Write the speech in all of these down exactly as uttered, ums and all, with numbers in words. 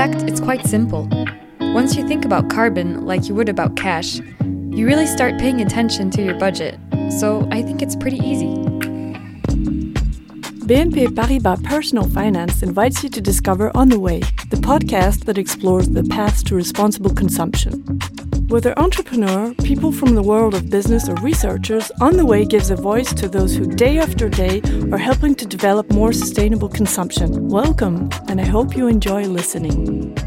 fact, it's quite simple. Once you think about carbon like you would about cash, you really start paying attention to your budget. So I think it's pretty easy. B N P Paribas Personal Finance invites you to discover On the Way, the podcast that explores the paths to responsible consumption. Whether entrepreneur, people from the world of business or researchers, On the Way gives a voice to those who day after day are helping to develop more sustainable consumption. Welcome, and I hope you enjoy listening.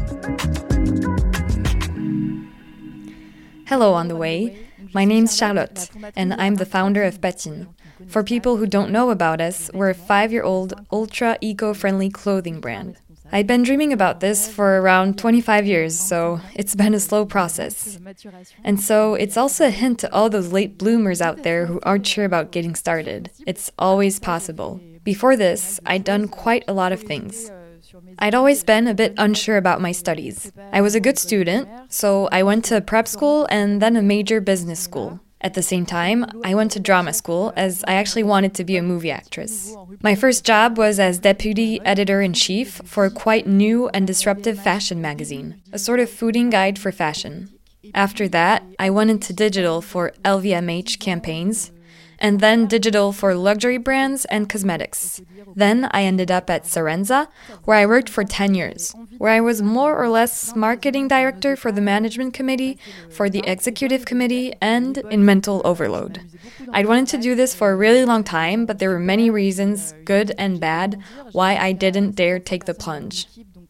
Hello, On the Way. My name's Charlotte, and I'm the founder of Patine. For people who don't know about us, we're a five-year-old, ultra-eco-friendly clothing brand. I'd been dreaming about this for around twenty-five years, so it's been a slow process. And so it's also a hint to all those late bloomers out there who aren't sure about getting started. It's always possible. Before this, I'd done quite a lot of things. I'd always been a bit unsure about my studies. I was a good student, so I went to prep school and then a major business school. At the same time, I went to drama school as I actually wanted to be a movie actress. My first job was as deputy editor-in-chief for a quite new and disruptive fashion magazine, a sort of fooding guide for fashion. After that, I went into digital for L V M H campaigns, and then digital for luxury brands and cosmetics. Then I ended up at Serenza, where I worked for ten years, where I was more or less marketing director for the management committee, for the executive committee, and in mental overload. I'd wanted to do this for a really long time, but there were many reasons, good and bad, why I didn't dare take the plunge.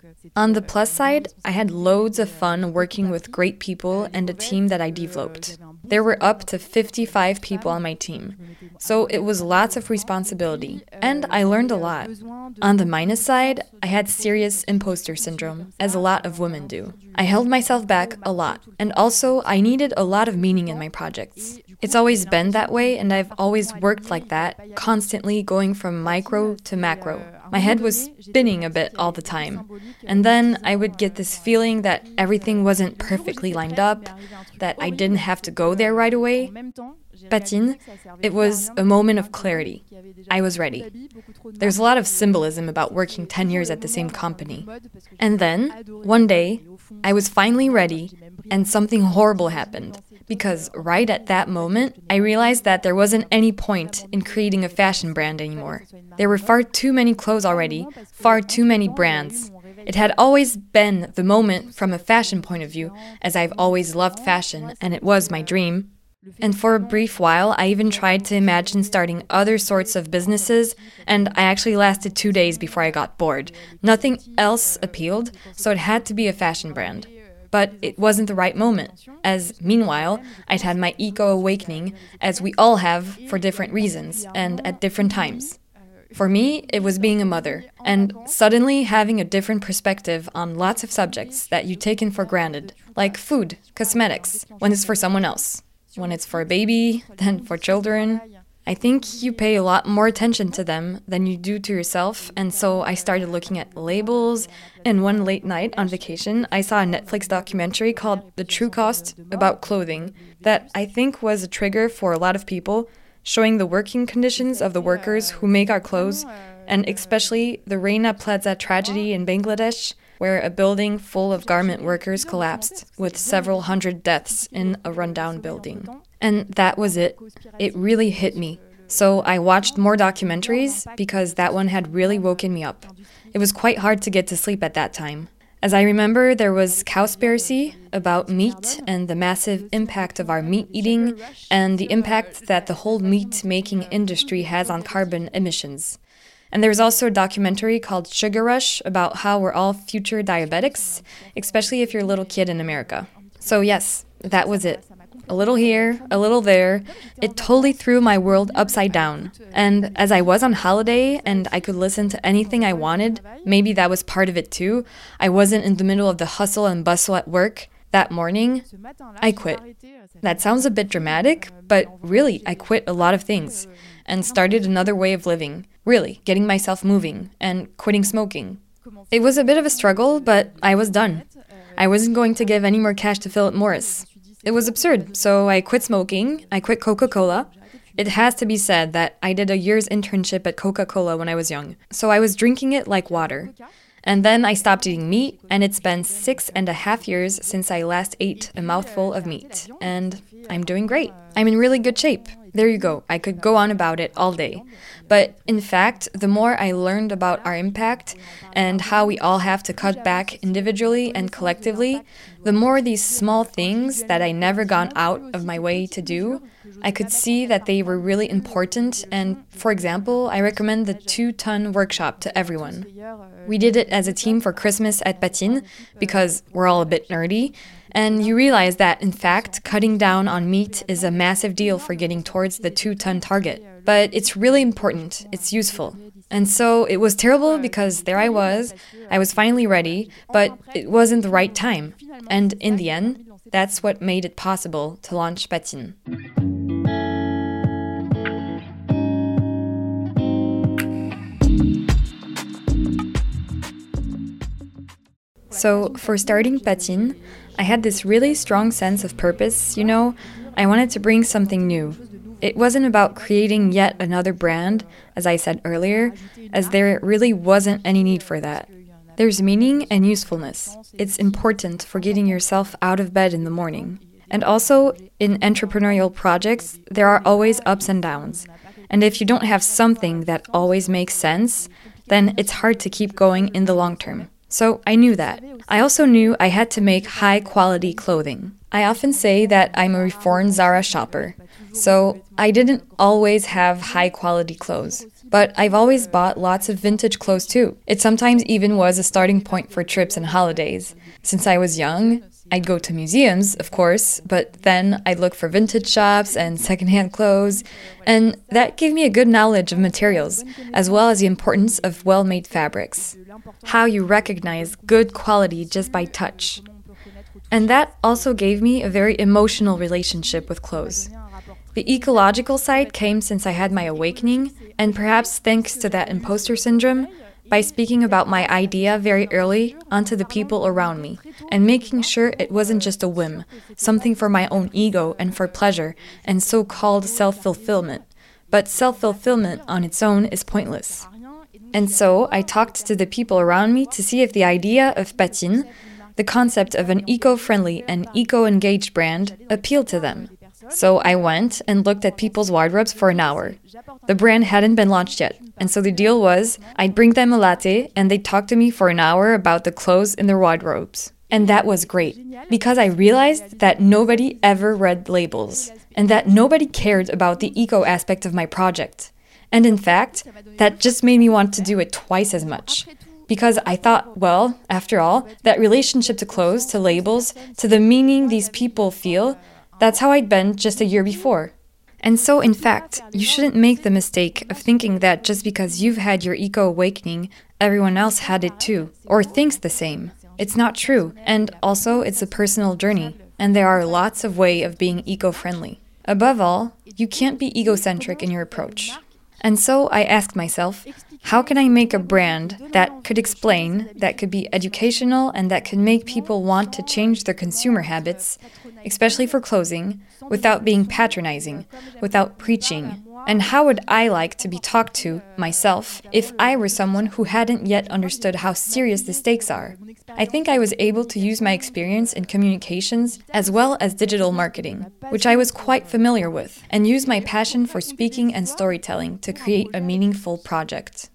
On the plus side, I had loads of fun working with great people and a team that I developed. There were up to fifty-five people on my team, so it was lots of responsibility, and I learned a lot. On the minus side, I had serious imposter syndrome, as a lot of women do. I held myself back a lot, and also I needed a lot of meaning in my projects. It's always been that way, and I've always worked like that, constantly going from micro to macro. My head was spinning a bit all the time. And then I would get this feeling that everything wasn't perfectly lined up, that I didn't have to go there right away. Patine, it was a moment of clarity. I was ready. There's a lot of symbolism about working ten years at the same company. And then, one day, I was finally ready, and something horrible happened. Because right at that moment, I realized that there wasn't any point in creating a fashion brand anymore. There were far too many clothes already, far too many brands. It had always been the moment from a fashion point of view, as I've always loved fashion, and it was my dream. And for a brief while, I even tried to imagine starting other sorts of businesses, and I actually lasted two days before I got bored. Nothing else appealed, so it had to be a fashion brand. But it wasn't the right moment, as meanwhile, I'd had my eco-awakening, as we all have for different reasons, and at different times. For me, it was being a mother, and suddenly having a different perspective on lots of subjects that you taken for granted, like food, cosmetics, when it's for someone else. When it's for a baby, then for children. I think you pay a lot more attention to them than you do to yourself, and so I started looking at labels, and one late night on vacation, I saw a Netflix documentary called The True Cost about clothing that I think was a trigger for a lot of people, showing the working conditions of the workers who make our clothes, and especially the Rana Plaza tragedy in Bangladesh, where a building full of garment workers collapsed, with several hundred deaths in a rundown building. And that was it. It really hit me. So I watched more documentaries because that one had really woken me up. It was quite hard to get to sleep at that time. As I remember, there was Cowspiracy about meat and the massive impact of our meat eating and the impact that the whole meat-making industry has on carbon emissions. And there's also a documentary called Sugar Rush about how we're all future diabetics, especially if you're a little kid in America. So yes, that was it. A little here, a little there. It totally threw my world upside down. And as I was on holiday and I could listen to anything I wanted, maybe that was part of it too. I wasn't in the middle of the hustle and bustle at work. That morning, I quit. That sounds a bit dramatic, but really, I quit a lot of things and started another way of living. Really, getting myself moving and quitting smoking. It was a bit of a struggle, but I was done. I wasn't going to give any more cash to Philip Morris. It was absurd, so I quit smoking, I quit Coca-Cola. It has to be said that I did a year's internship at Coca-Cola when I was young, so I was drinking it like water. And then I stopped eating meat, and it's been six and a half years since I last ate a mouthful of meat. And I'm doing great. I'm in really good shape. There you go. I could go on about it all day. But in fact, the more I learned about our impact and how we all have to cut back individually and collectively, the more these small things that I never gone out of my way to do, I could see that they were really important. And for example, I recommend the two-ton workshop to everyone. We did it as a team for Christmas at Patine because we're all a bit nerdy. And you realize that, in fact, cutting down on meat is a massive deal for getting towards the two-ton target. But it's really important. It's useful. And so it was terrible because there I was. I was finally ready, but it wasn't the right time. And in the end, that's what made it possible to launch Patine. So for starting Patine, I had this really strong sense of purpose, you know. I wanted to bring something new. It wasn't about creating yet another brand, as I said earlier, as there really wasn't any need for that. There's meaning and usefulness. It's important for getting yourself out of bed in the morning. And also, in entrepreneurial projects, there are always ups and downs. And if you don't have something that always makes sense, then it's hard to keep going in the long term. So I knew that. I also knew I had to make high-quality clothing. I often say that I'm a reformed Zara shopper. So I didn't always have high-quality clothes. But I've always bought lots of vintage clothes too. It sometimes even was a starting point for trips and holidays. Since I was young, I'd go to museums, of course, but then I'd look for vintage shops and secondhand clothes, and that gave me a good knowledge of materials, as well as the importance of well-made fabrics. How you recognize good quality just by touch. And that also gave me a very emotional relationship with clothes. The ecological side came since I had my awakening, and perhaps thanks to that imposter syndrome, by speaking about my idea very early onto the people around me, and making sure it wasn't just a whim, something for my own ego and for pleasure, and so-called self-fulfillment. But self-fulfillment on its own is pointless. And so I talked to the people around me to see if the idea of Patine, the concept of an eco-friendly and eco-engaged brand, appealed to them. So I went and looked at people's wardrobes for an hour. The brand hadn't been launched yet, and so the deal was I'd bring them a latte and they'd talk to me for an hour about the clothes in their wardrobes. And that was great, because I realized that nobody ever read labels, and that nobody cared about the eco aspect of my project. And in fact, that just made me want to do it twice as much. Because I thought, well, after all, that relationship to clothes, to labels, to the meaning these people feel, that's how I'd been just a year before. And so, in fact, you shouldn't make the mistake of thinking that just because you've had your eco-awakening, everyone else had it too, or thinks the same. It's not true, and also it's a personal journey, and there are lots of ways of being eco-friendly. Above all, you can't be egocentric in your approach. And so I asked myself, how can I make a brand that could explain, that could be educational, and that could make people want to change their consumer habits, especially for clothing, without being patronizing, without preaching? And how would I like to be talked to, myself, if I were someone who hadn't yet understood how serious the stakes are? I think I was able to use my experience in communications as well as digital marketing, which I was quite familiar with, and use my passion for speaking and storytelling to create a meaningful project.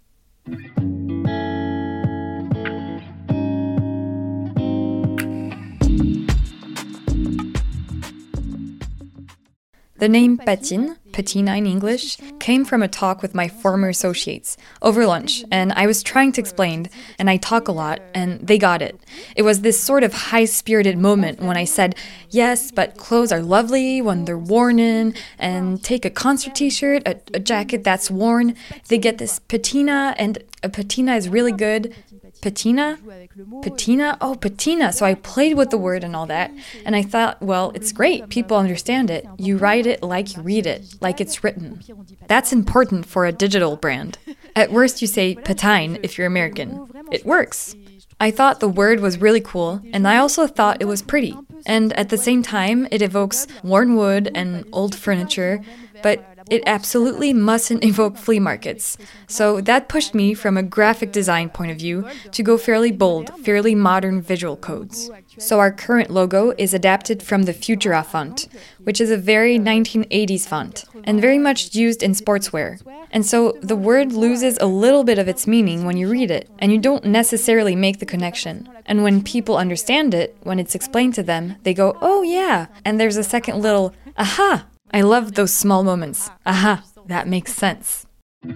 The name Patine, patina in English, came from a talk with my former associates over lunch, and I was trying to explain, and I talk a lot, and they got it. It was this sort of high-spirited moment when I said, yes, but clothes are lovely when they're worn in, and take a concert t-shirt, a, a jacket that's worn, they get this patina, and a patina is really good. Patina? Patina? Oh, patina. So I played with the word and all that. And I thought, well, it's great. People understand it. You write it like you read it, like it's written. That's important for a digital brand. At worst, you say patine if you're American. It works. I thought the word was really cool, and I also thought it was pretty. And at the same time, it evokes worn wood and old furniture, but It absolutely mustn't evoke flea markets. So that pushed me from a graphic design point of view to go fairly bold, fairly modern visual codes. So our current logo is adapted from the Futura font, which is a very nineteen eighties font, and very much used in sportswear. And so the word loses a little bit of its meaning when you read it, and you don't necessarily make the connection. And when people understand it, when it's explained to them, they go, oh yeah, and there's a second little, aha! I love those small moments. Aha, that makes sense.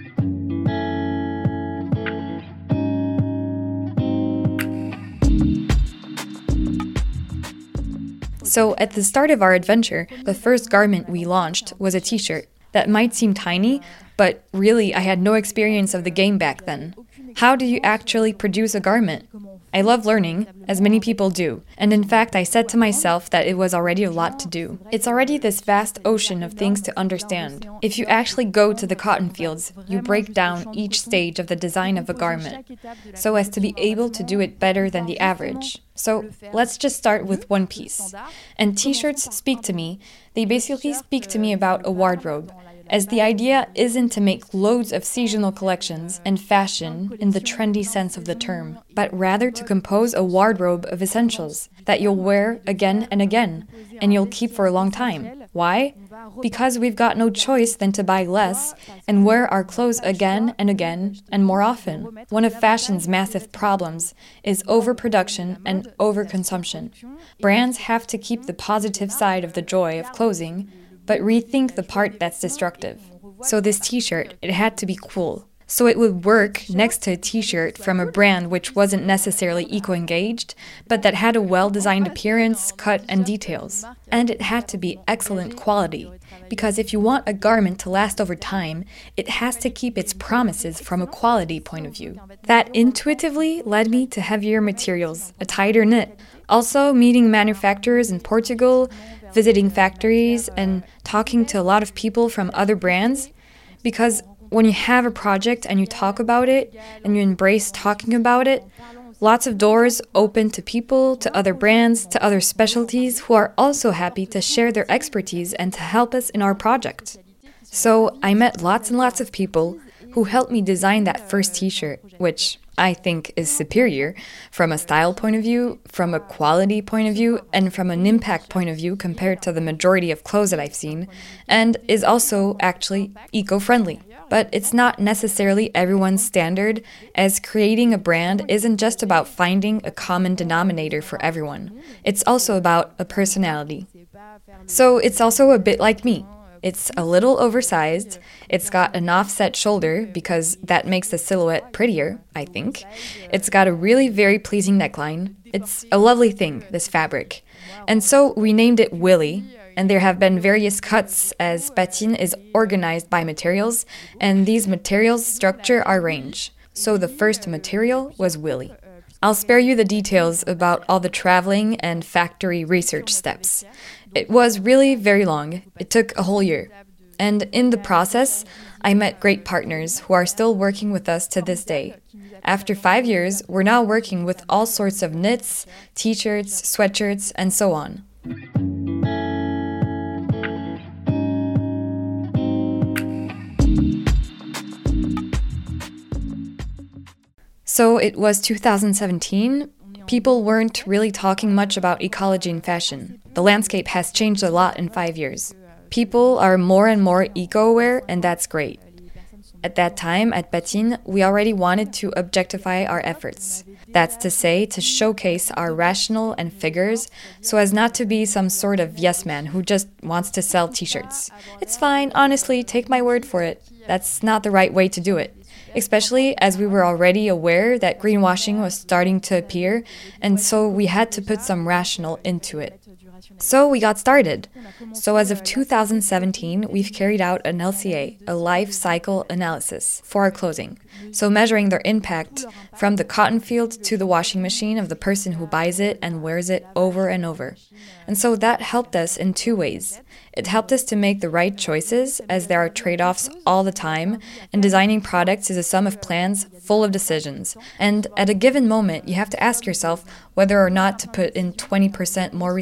So at the start of our adventure, the first garment we launched was a t-shirt. That might seem tiny, but really I had no experience of the game back then. How do you actually produce a garment? I love learning, as many people do, and in fact I said to myself that it was already a lot to do. It's already this vast ocean of things to understand. If you actually go to the cotton fields, you break down each stage of the design of a garment, so as to be able to do it better than the average. So let's just start with one piece. And t-shirts speak to me. They basically speak to me about a wardrobe, as the idea isn't to make loads of seasonal collections and fashion in the trendy sense of the term, but rather to compose a wardrobe of essentials that you'll wear again and again, and you'll keep for a long time. Why? Because we've got no choice than to buy less and wear our clothes again and again and more often. One of fashion's massive problems is overproduction and overconsumption. Brands have to keep the positive side of the joy of clothing, but rethink the part that's destructive. So this t-shirt, it had to be cool. So it would work next to a t-shirt from a brand which wasn't necessarily eco-engaged, but that had a well-designed appearance, cut, and details. And it had to be excellent quality, because if you want a garment to last over time, it has to keep its promises from a quality point of view. That intuitively led me to heavier materials, a tighter knit. Also, meeting manufacturers in Portugal, visiting factories, and talking to a lot of people from other brands, because when you have a project and you talk about it and you embrace talking about it, lots of doors open to people, to other brands, to other specialties who are also happy to share their expertise and to help us in our project. So I met lots and lots of people who helped me design that first t-shirt, which I think is superior from a style point of view, from a quality point of view, and from an impact point of view compared to the majority of clothes that I've seen, and is also actually eco-friendly. But it's not necessarily everyone's standard, as creating a brand isn't just about finding a common denominator for everyone. It's also about a personality. So it's also a bit like me. It's a little oversized, it's got an offset shoulder because that makes the silhouette prettier, I think. It's got a really very pleasing neckline. It's a lovely thing, this fabric. And so we named it Willy, and there have been various cuts as Patine is organized by materials, and these materials structure our range. So the first material was Willy. I'll spare you the details about all the traveling and factory research steps. It was really very long. It took a whole year. And in the process, I met great partners who are still working with us to this day. After five years, we're now working with all sorts of knits, t-shirts, sweatshirts, and so on. So it was two thousand seventeen. People weren't really talking much about ecology in fashion. The landscape has changed a lot in five years. People are more and more eco-aware, and that's great. At that time, at Patine, we already wanted to objectify our efforts. That's to say, to showcase our rational and figures, so as not to be some sort of yes man who just wants to sell t-shirts. It's fine, honestly, take my word for it. That's not the right way to do it. Especially as we were already aware that greenwashing was starting to appear, and so we had to put some rational into it. So we got started. So as of two thousand seventeen, we've carried out an L C A, a life cycle analysis, for our clothing. So measuring their impact from the cotton field to the washing machine of the person who buys it and wears it over and over. And so that helped us in two ways. It helped us to make the right choices, as there are trade-offs all the time, and designing products is a sum of plans full of decisions. And at a given moment, you have to ask yourself whether or not to put in twenty percent more recycled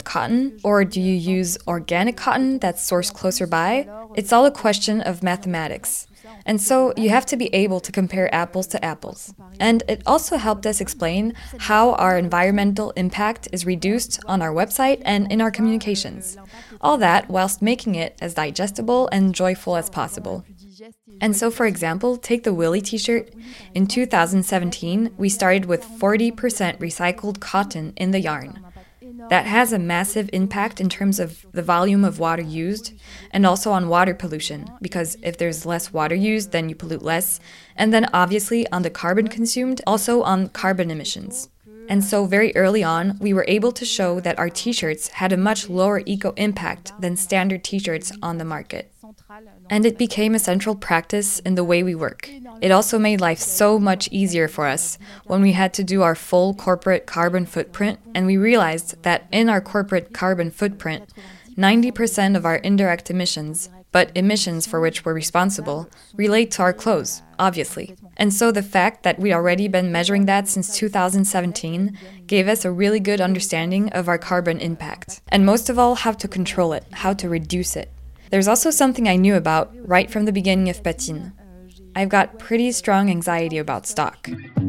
cotton, or do you use organic cotton that's sourced closer by? It's all a question of mathematics. And so you have to be able to compare apples to apples. And it also helped us explain how our environmental impact is reduced on our website and in our communications. All that whilst making it as digestible and joyful as possible. And so, for example, take the Willy t-shirt. In two thousand seventeen, we started with forty percent recycled cotton in the yarn. That has a massive impact in terms of the volume of water used and also on water pollution, because if there's less water used, then you pollute less, and then obviously on the carbon consumed, also on carbon emissions. And so very early on, we were able to show that our t-shirts had a much lower eco-impact than standard t-shirts on the market. And it became a central practice in the way we work. It also made life so much easier for us when we had to do our full corporate carbon footprint, and we realized that in our corporate carbon footprint, ninety percent of our indirect emissions, but emissions for which we're responsible, relate to our clothes, obviously. And so the fact that we'd already been measuring that since two thousand seventeen gave us a really good understanding of our carbon impact. And most of all, how to control it, how to reduce it. There's also something I knew about right from the beginning of Patine. I've got pretty strong anxiety about stock.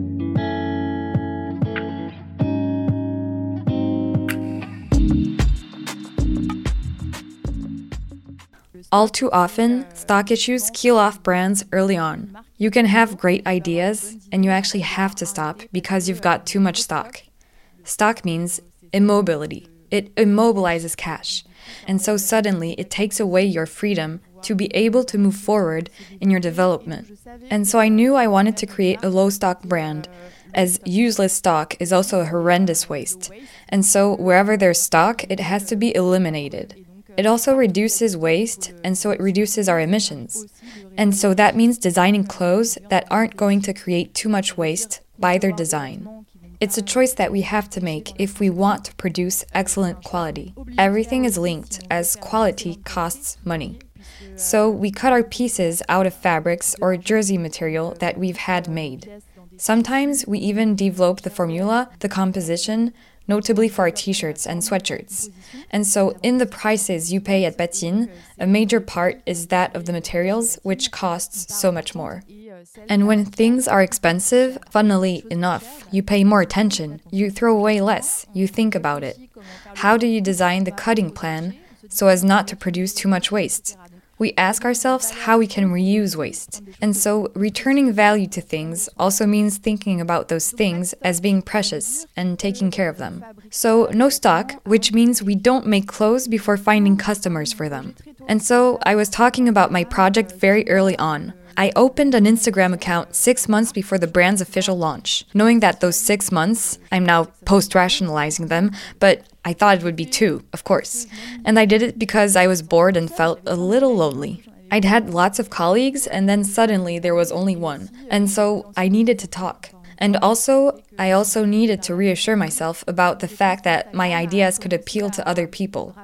All too often, stock issues kill off brands early on. You can have great ideas, and you actually have to stop because you've got too much stock. Stock means immobility. It immobilizes cash. And so suddenly it takes away your freedom to be able to move forward in your development. And so I knew I wanted to create a low-stock brand, as useless stock is also a horrendous waste. And so wherever there's stock, it has to be eliminated. It also reduces waste, and so it reduces our emissions. And so that means designing clothes that aren't going to create too much waste by their design. It's a choice that we have to make if we want to produce excellent quality. Everything is linked, as quality costs money. So we cut our pieces out of fabrics or jersey material that we've had made. Sometimes we even develop the formula, the composition, notably for our t-shirts and sweatshirts. And so in the prices you pay at Patine, a major part is that of the materials, which costs so much more. And when things are expensive, funnily enough, you pay more attention, you throw away less, you think about it. How do you design the cutting plan so as not to produce too much waste? We ask ourselves how we can reuse waste. And so returning value to things also means thinking about those things as being precious and taking care of them. So no stock, which means we don't make clothes before finding customers for them. And so I was talking about my project very early on. I opened an Instagram account six months before the brand's official launch, knowing that those six months, I'm now post-rationalizing them, but I thought it would be two, of course. And I did it because I was bored and felt a little lonely. I'd had lots of colleagues, and then suddenly there was only one. And so I needed to talk. And also, I also needed to reassure myself about the fact that my ideas could appeal to other people.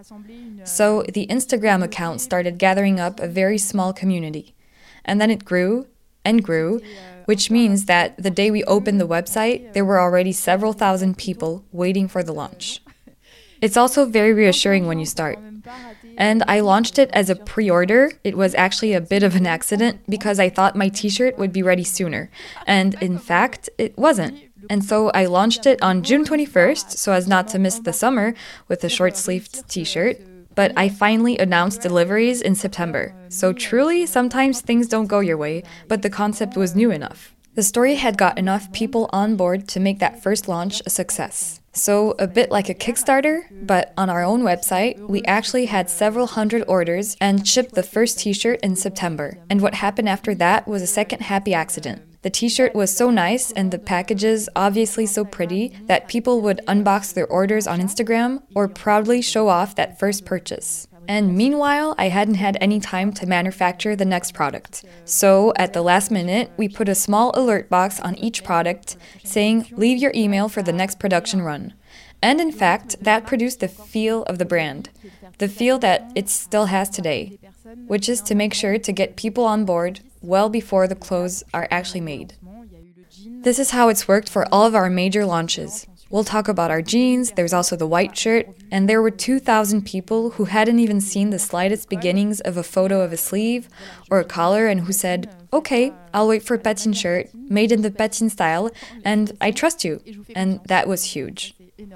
So the Instagram account started gathering up a very small community. And then it grew and grew, which means that the day we opened the website, there were already several thousand people waiting for the launch. It's also very reassuring when you start. And I launched it as a pre-order. It was actually a bit of an accident because I thought my t-shirt would be ready sooner. And in fact, it wasn't. And so I launched it on June twenty-first, so as not to miss the summer, with a short-sleeved t-shirt. But I finally announced deliveries in September. So truly, sometimes things don't go your way, but the concept was new enough. The story had got enough people on board to make that first launch a success. So a bit like a Kickstarter, but on our own website, we actually had several hundred orders and shipped the first t-shirt in September. And what happened after that was a second happy accident. The t-shirt was so nice and the packages obviously so pretty that people would unbox their orders on Instagram or proudly show off that first purchase. And meanwhile, I hadn't had any time to manufacture the next product. So at the last minute, we put a small alert box on each product saying, leave your email for the next production run. And in fact, that produced the feel of the brand, the feel that it still has today, which is to make sure to get people on board well before the clothes are actually made. This is how it's worked for all of our major launches. We'll talk about our jeans, there's also the white shirt, and there were two thousand people who hadn't even seen the slightest beginnings of a photo of a sleeve or a collar and who said, okay, I'll wait for Patine shirt, made in the Patine style, and I trust you. And that was huge.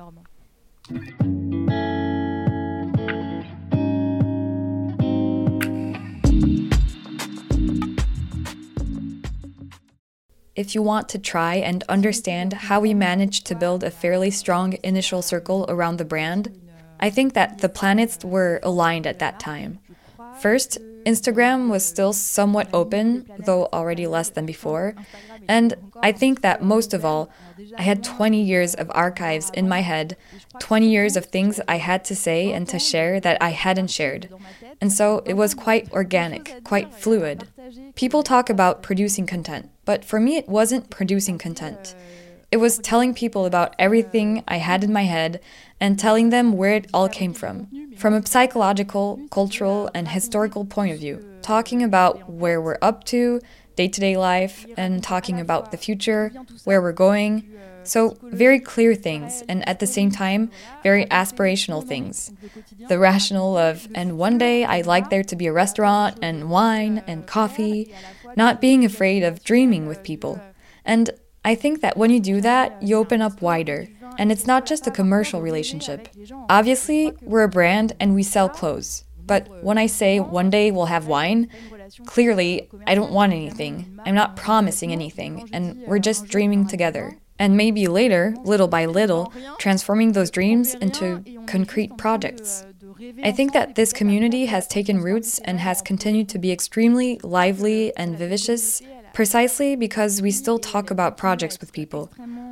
If you want to try and understand how we managed to build a fairly strong initial circle around the brand, I think that the planets were aligned at that time. First, Instagram was still somewhat open, though already less than before. And I think that most of all, I had twenty years of archives in my head, twenty years of things I had to say and to share that I hadn't shared. And so it was quite organic, quite fluid. People talk about producing content, but for me it wasn't producing content. It was telling people about everything I had in my head and telling them where it all came from. From a psychological, cultural, and historical point of view. Talking about where we're up to, day-to-day life, and talking about the future, where we're going. So very clear things, and at the same time, very aspirational things. The rational of, and one day I'd like there to be a restaurant, and wine, and coffee. Not being afraid of dreaming with people. And I think that when you do that, you open up wider. And it's not just a commercial relationship. Obviously, we're a brand and we sell clothes. But when I say one day we'll have wine, clearly I don't want anything. I'm not promising anything, and we're just dreaming together. And maybe later, little by little, transforming those dreams into concrete projects. I think that this community has taken roots and has continued to be extremely lively and vivacious, precisely because we still talk about projects with people.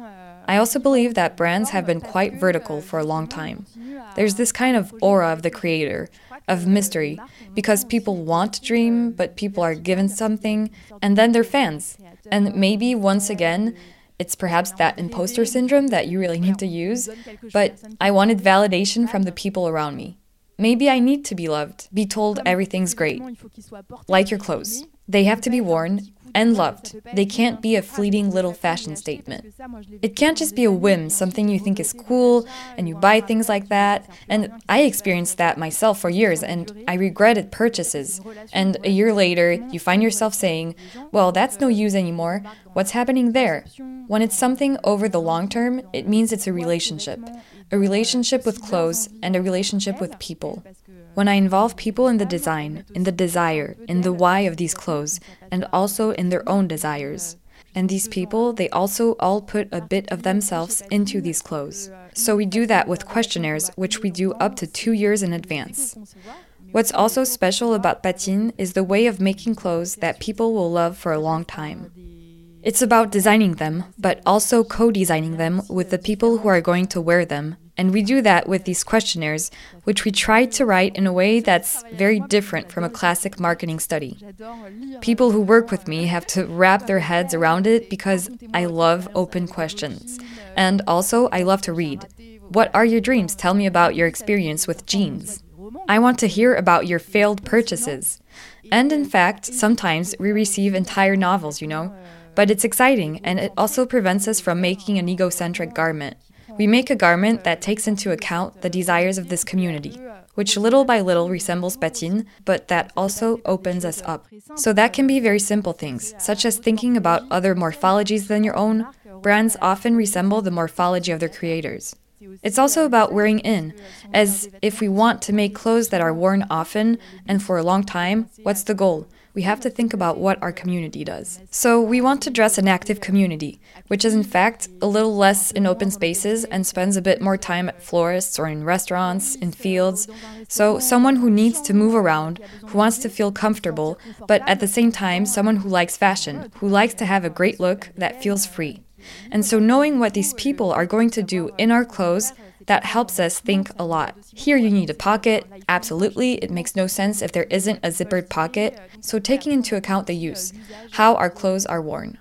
I also believe that brands have been quite vertical for a long time. There's this kind of aura of the creator, of mystery, because people want to dream, but people are given something, and then they're fans. And maybe, once again, it's perhaps that imposter syndrome that you really need to use, but I wanted validation from the people around me. Maybe I need to be loved, be told everything's great. Like your clothes. They have to be worn and loved. They can't be a fleeting little fashion statement. It can't just be a whim, something you think is cool, and you buy things like that. And I experienced that myself for years, and I regretted purchases. And a year later, you find yourself saying, well, that's no use anymore. What's happening there? When it's something over the long term, it means it's a relationship. A relationship with clothes and a relationship with people. When I involve people in the design, in the desire, in the why of these clothes, and also in their own desires. And these people, they also all put a bit of themselves into these clothes. So we do that with questionnaires, which we do up to two years in advance. What's also special about Patine is the way of making clothes that people will love for a long time. It's about designing them, but also co-designing them with the people who are going to wear them. And we do that with these questionnaires, which we try to write in a way that's very different from a classic marketing study. People who work with me have to wrap their heads around it because I love open questions. And also, I love to read. What are your dreams? Tell me about your experience with jeans. I want to hear about your failed purchases. And in fact, sometimes we receive entire novels, you know. But it's exciting, and it also prevents us from making an egocentric garment. We make a garment that takes into account the desires of this community, which little by little resembles Patine, but that also opens us up. So that can be very simple things, such as thinking about other morphologies than your own. Brands often resemble the morphology of their creators. It's also about wearing in, as if we want to make clothes that are worn often and for a long time, what's the goal? We have to think about what our community does. So we want to dress an active community, which is in fact a little less in open spaces and spends a bit more time at florists or in restaurants, in fields. So someone who needs to move around, who wants to feel comfortable, but at the same time someone who likes fashion, who likes to have a great look that feels free. And so knowing what these people are going to do in our clothes, that helps us think a lot. Here you need a pocket. Absolutely, it makes no sense if there isn't a zippered pocket. So taking into account the use, how our clothes are worn.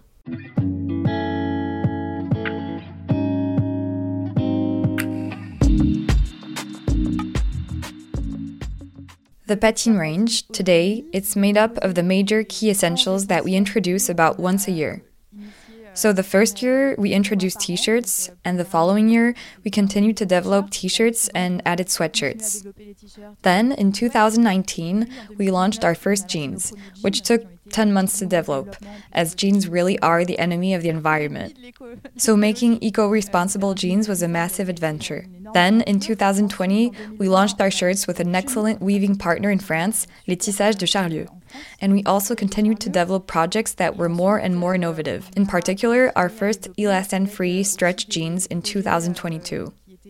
The Patine range, today, it's made up of the major key essentials that we introduce about once a year. So the first year, we introduced t-shirts, and the following year, we continued to develop t-shirts and added sweatshirts. Then, in two thousand nineteen, we launched our first jeans, which took ten months to develop, as jeans really are the enemy of the environment. So making eco-responsible jeans was a massive adventure. Then, in two thousand twenty, we launched our shirts with an excellent weaving partner in France, Les Tissages de Charlieu. And we also continued to develop projects that were more and more innovative. In particular, our first elastane-free stretch jeans in two thousand twenty-two.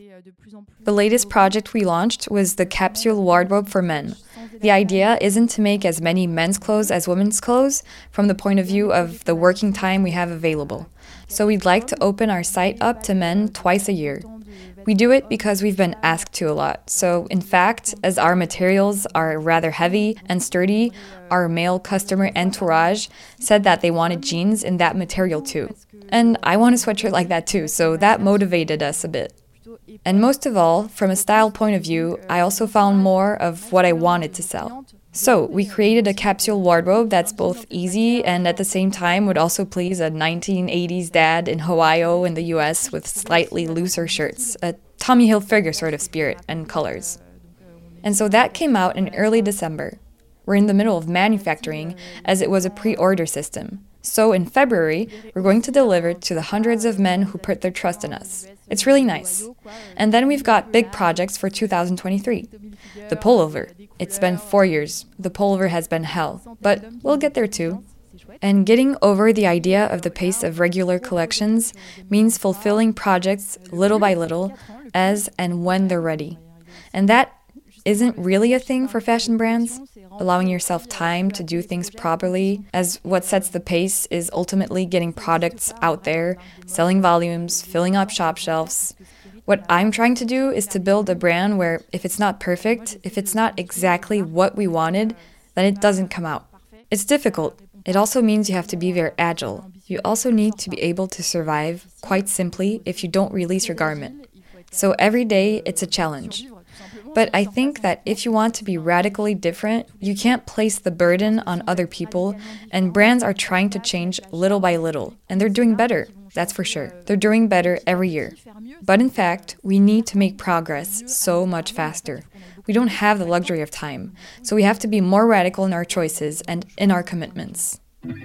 The latest project we launched was the capsule wardrobe for men. The idea isn't to make as many men's clothes as women's clothes from the point of view of the working time we have available. So we'd like to open our site up to men twice a year. We do it because we've been asked to a lot. So, in fact, as our materials are rather heavy and sturdy, our male customer entourage said that they wanted jeans in that material too. And I want a sweatshirt like that too, so that motivated us a bit. And most of all, from a style point of view, I also found more of what I wanted to sell. So, we created a capsule wardrobe that's both easy and at the same time would also please a nineteen eighties dad in Ohio in the U S with slightly looser shirts, a Tommy Hilfiger sort of spirit and colors. And so that came out in early December. We're in the middle of manufacturing, as it was a pre-order system. So in February, we're going to deliver to the hundreds of men who put their trust in us. It's really nice. And then we've got big projects for two thousand twenty-three. The pullover. It's been four years. The pullover has been hell. But we'll get there too. And getting over the idea of the pace of regular collections means fulfilling projects little by little, as and when they're ready. And that isn't really a thing for fashion brands. Allowing yourself time to do things properly, as what sets the pace is ultimately getting products out there, selling volumes, filling up shop shelves. What I'm trying to do is to build a brand where if it's not perfect, if it's not exactly what we wanted, then it doesn't come out. It's difficult. It also means you have to be very agile. You also need to be able to survive, quite simply, if you don't release your garment. So every day, it's a challenge. But I think that if you want to be radically different, you can't place the burden on other people, and brands are trying to change little by little, and they're doing better, that's for sure. They're doing better every year. But in fact, we need to make progress so much faster. We don't have the luxury of time, so we have to be more radical in our choices and in our commitments.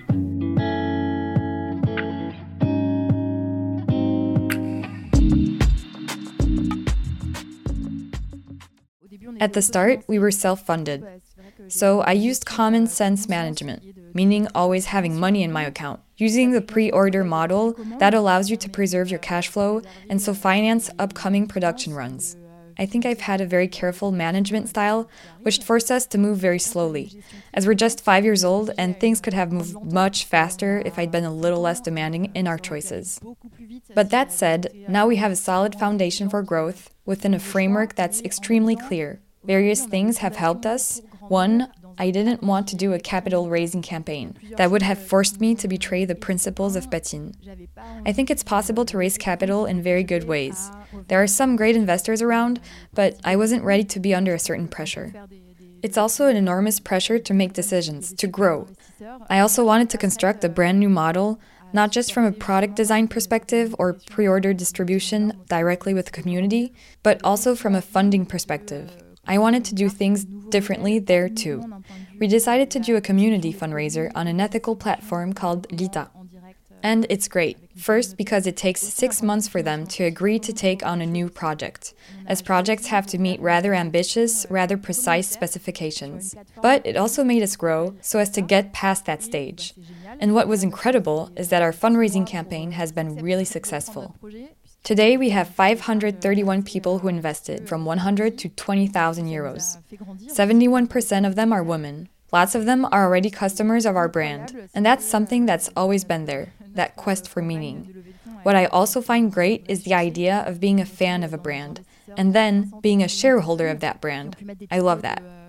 At the start, we were self-funded. So I used common sense management, meaning always having money in my account. Using the pre-order model, that allows you to preserve your cash flow and so finance upcoming production runs. I think I've had a very careful management style, which forced us to move very slowly, as we're just five years old and things could have moved much faster if I'd been a little less demanding in our choices. But that said, now we have a solid foundation for growth within a framework that's extremely clear. Various things have helped us. One, I didn't want to do a capital raising campaign. That would have forced me to betray the principles of Patine. I think it's possible to raise capital in very good ways. There are some great investors around, but I wasn't ready to be under a certain pressure. It's also an enormous pressure to make decisions, to grow. I also wanted to construct a brand new model, not just from a product design perspective or pre-order distribution directly with the community, but also from a funding perspective. I wanted to do things differently there too. We decided to do a community fundraiser on an ethical platform called Lita. And it's great. First, because it takes six months for them to agree to take on a new project, as projects have to meet rather ambitious, rather precise specifications. But it also made us grow so as to get past that stage. And what was incredible is that our fundraising campaign has been really successful. Today, we have five hundred thirty-one people who invested, from one hundred to twenty thousand euros. seventy-one percent of them are women. Lots of them are already customers of our brand. And that's something that's always been there, that quest for meaning. What I also find great is the idea of being a fan of a brand, and then being a shareholder of that brand. I love that.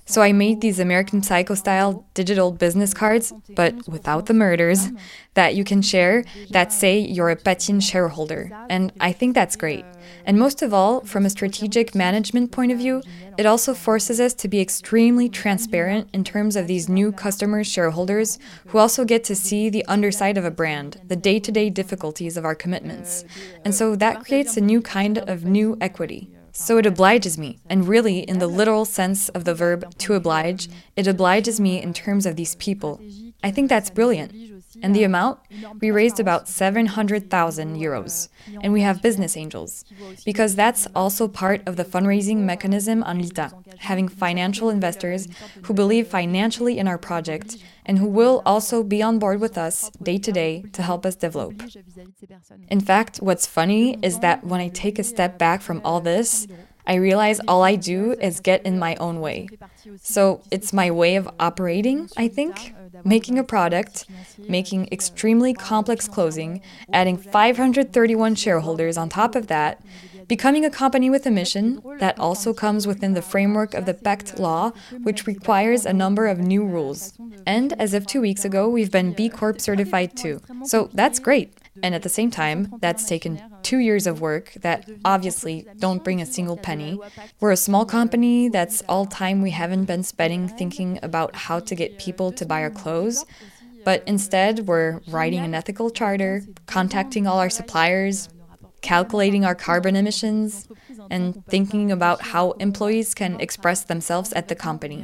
So I made these American Psycho-style digital business cards, but without the murders, that you can share that say you're a Patine shareholder. And I think that's great. And most of all, from a strategic management point of view, it also forces us to be extremely transparent in terms of these new customer shareholders who also get to see the underside of a brand, the day-to-day difficulties of our commitments. And so that creates a new kind of new equity. So it obliges me, and really, in the literal sense of the verb to oblige, it obliges me in terms of these people. I think that's brilliant. And the amount? We raised about seven hundred thousand euros. And we have business angels. Because that's also part of the fundraising mechanism on Lita, having financial investors who believe financially in our project and who will also be on board with us day to day to help us develop. In fact, what's funny is that when I take a step back from all this, I realize all I do is get in my own way. So it's my way of operating, I think. Making a product, making extremely complex closing, adding five hundred thirty-one shareholders on top of that, becoming a company with a mission that also comes within the framework of the Pacte law, which requires a number of new rules. And as of two weeks ago, we've been B Corp certified too. So that's great. And at the same time, that's taken two years of work that obviously don't bring a single penny. We're a small company, that's all time we haven't been spending thinking about how to get people to buy our clothes. But instead, we're writing an ethical charter, contacting all our suppliers, calculating our carbon emissions, and thinking about how employees can express themselves at the company.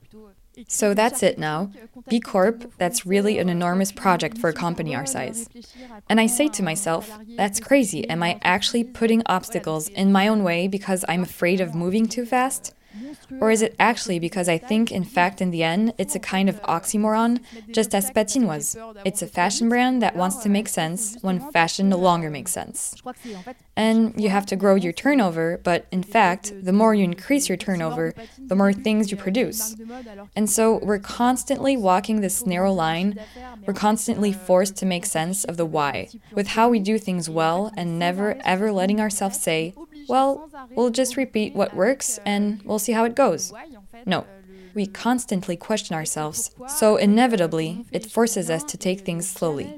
So that's it now. B Corp, that's really an enormous project for a company our size. And I say to myself, that's crazy. Am I actually putting obstacles in my own way because I'm afraid of moving too fast? Or is it actually because I think, in fact, in the end, it's a kind of oxymoron, just as Patine was. It's a fashion brand that wants to make sense when fashion no longer makes sense. And you have to grow your turnover, but in fact, the more you increase your turnover, the more things you produce. And so we're constantly walking this narrow line. We're constantly forced to make sense of the why, with how we do things well, and never ever letting ourselves say, well, we'll just repeat what works and we'll see how it goes. No, we constantly question ourselves, so inevitably it forces us to take things slowly.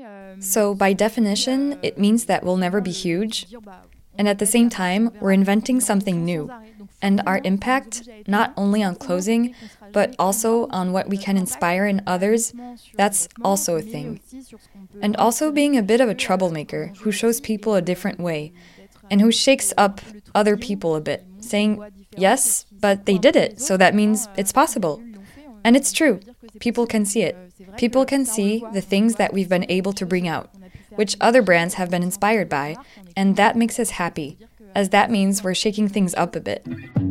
So by definition, it means that we'll never be huge, and at the same time, we're inventing something new. And our impact, not only on closing, but also on what we can inspire in others, that's also a thing. And also being a bit of a troublemaker who shows people a different way, and who shakes up other people a bit, saying, yes, but they did it, so that means it's possible. And it's true. People can see it. People can see the things that we've been able to bring out, which other brands have been inspired by, and that makes us happy, as that means we're shaking things up a bit.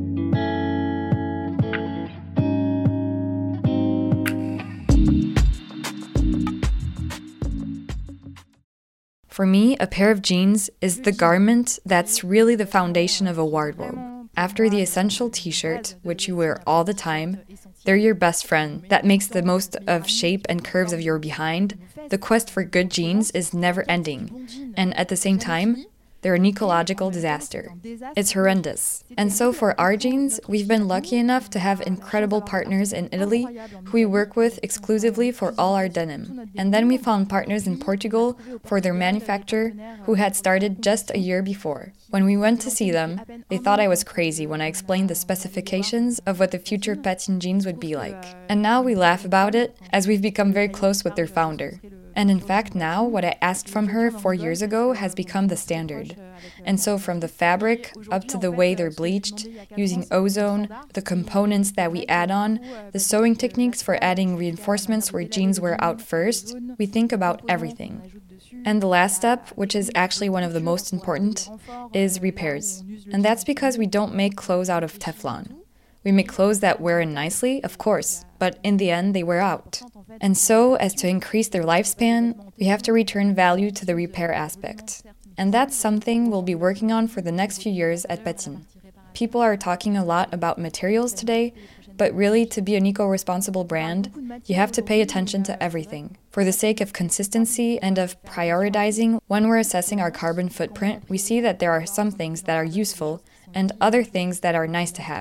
For me, a pair of jeans is the garment that's really the foundation of a wardrobe. After the essential t-shirt, which you wear all the time, they're your best friend that makes the most of shape and curves of your behind. The quest for good jeans is never ending. And at the same time, they're an ecological disaster. It's horrendous. And so for our jeans, we've been lucky enough to have incredible partners in Italy who we work with exclusively for all our denim. And then we found partners in Portugal for their manufacture who had started just a year before. When we went to see them, they thought I was crazy when I explained the specifications of what the future Patine jeans would be like. And now we laugh about it as we've become very close with their founder. And in fact, now, what I asked from her four years ago has become the standard. And so from the fabric up to the way they're bleached, using ozone, the components that we add on, the sewing techniques for adding reinforcements where jeans wear out first, we think about everything. And the last step, which is actually one of the most important, is repairs. And that's because we don't make clothes out of Teflon. We make clothes that wear in nicely, of course, but in the end they wear out. And so, as to increase their lifespan, we have to return value to the repair aspect. And that's something we'll be working on for the next few years at Patine. People are talking a lot about materials today, but really, to be an eco-responsible brand, you have to pay attention to everything. For the sake of consistency and of prioritizing, when we're assessing our carbon footprint, we see that there are some things that are useful and other things that are nice-to-haves.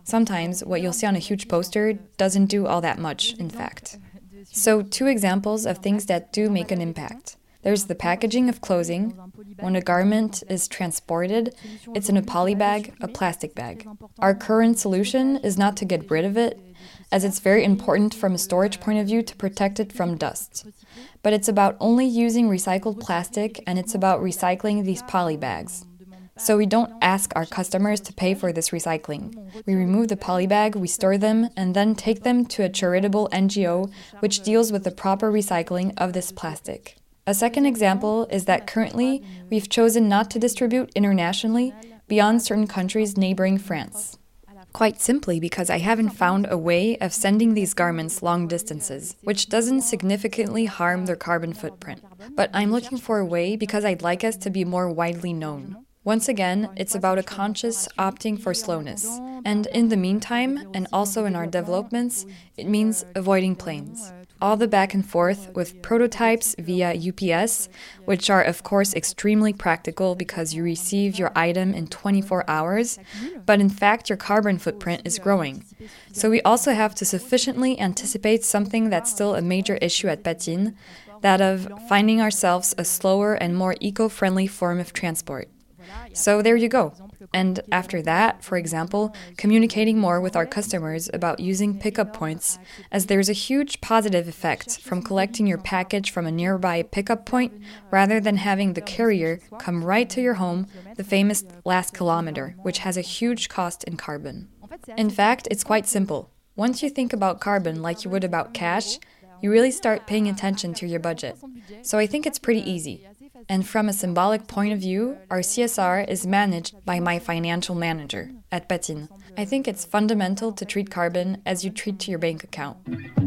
Sometimes what you'll see on a huge poster doesn't do all that much, in fact. So, two examples of things that do make an impact. There's the packaging of clothing. When a garment is transported, it's in a poly bag, a plastic bag. Our current solution is not to get rid of it, as it's very important from a storage point of view to protect it from dust. But it's about only using recycled plastic, and it's about recycling these poly bags. So we don't ask our customers to pay for this recycling. We remove the poly bag, we store them, and then take them to a charitable N G O which deals with the proper recycling of this plastic. A second example is that currently we've chosen not to distribute internationally beyond certain countries neighboring France. Quite simply because I haven't found a way of sending these garments long distances, which doesn't significantly harm their carbon footprint. But I'm looking for a way because I'd like us to be more widely known. Once again, it's about a conscious opting for slowness. And in the meantime, and also in our developments, it means avoiding planes. All the back and forth with prototypes via U P S, which are of course extremely practical because you receive your item in twenty-four hours, but in fact your carbon footprint is growing. So we also have to sufficiently anticipate something that's still a major issue at Patine, that of finding ourselves a slower and more eco-friendly form of transport. So there you go. And after that, for example, communicating more with our customers about using pickup points, as there's a huge positive effect from collecting your package from a nearby pickup point rather than having the carrier come right to your home, the famous last kilometer, which has a huge cost in carbon. In fact, it's quite simple. Once you think about carbon like you would about cash, you really start paying attention to your budget. So I think it's pretty easy. And from a symbolic point of view, our C S R is managed by my financial manager at Patine. I think it's fundamental to treat carbon as you treat to your bank account.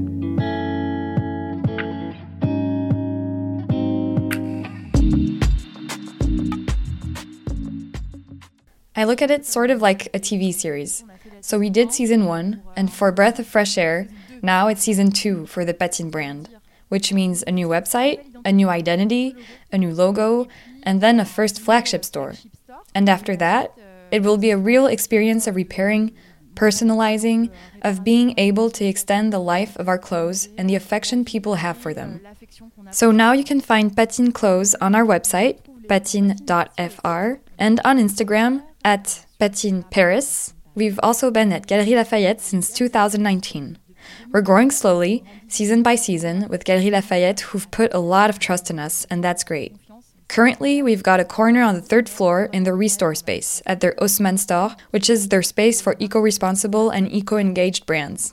I look at it sort of like a T V series. So we did season one, and for Breath of Fresh Air, now it's season two for the Patine brand, which means a new website, a new identity, a new logo, and then a first flagship store. And after that, it will be a real experience of repairing, personalizing, of being able to extend the life of our clothes and the affection people have for them. So now you can find Patine clothes on our website, patine dot f r, and on Instagram at Patine Paris. We've also been at Galeries Lafayette since two thousand nineteen. We're growing slowly, season by season, with Galeries Lafayette, who've put a lot of trust in us, and that's great. Currently, we've got a corner on the third floor in the Restore space at their Haussmann store, which is their space for eco-responsible and eco-engaged brands.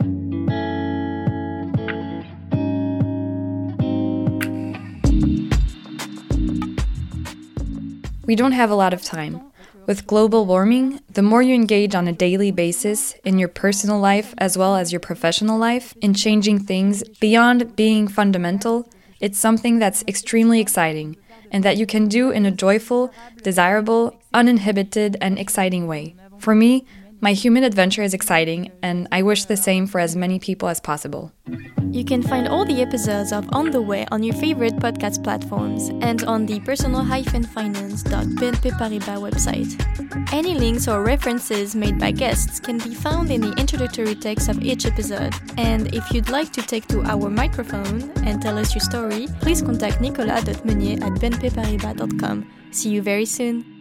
We don't have a lot of time. With global warming, the more you engage on a daily basis in your personal life as well as your professional life, in changing things beyond being fundamental, it's something that's extremely exciting and that you can do in a joyful, desirable, uninhibited, and exciting way. For me, my human adventure is exciting, and I wish the same for as many people as possible. You can find all the episodes of On the Way on your favorite podcast platforms and on the personal dash finance dot b n p paribas website. Any links or references made by guests can be found in the introductory text of each episode. And if you'd like to take to our microphone and tell us your story, please contact nicolas dot meunier at b n p paribas dot com. See you very soon!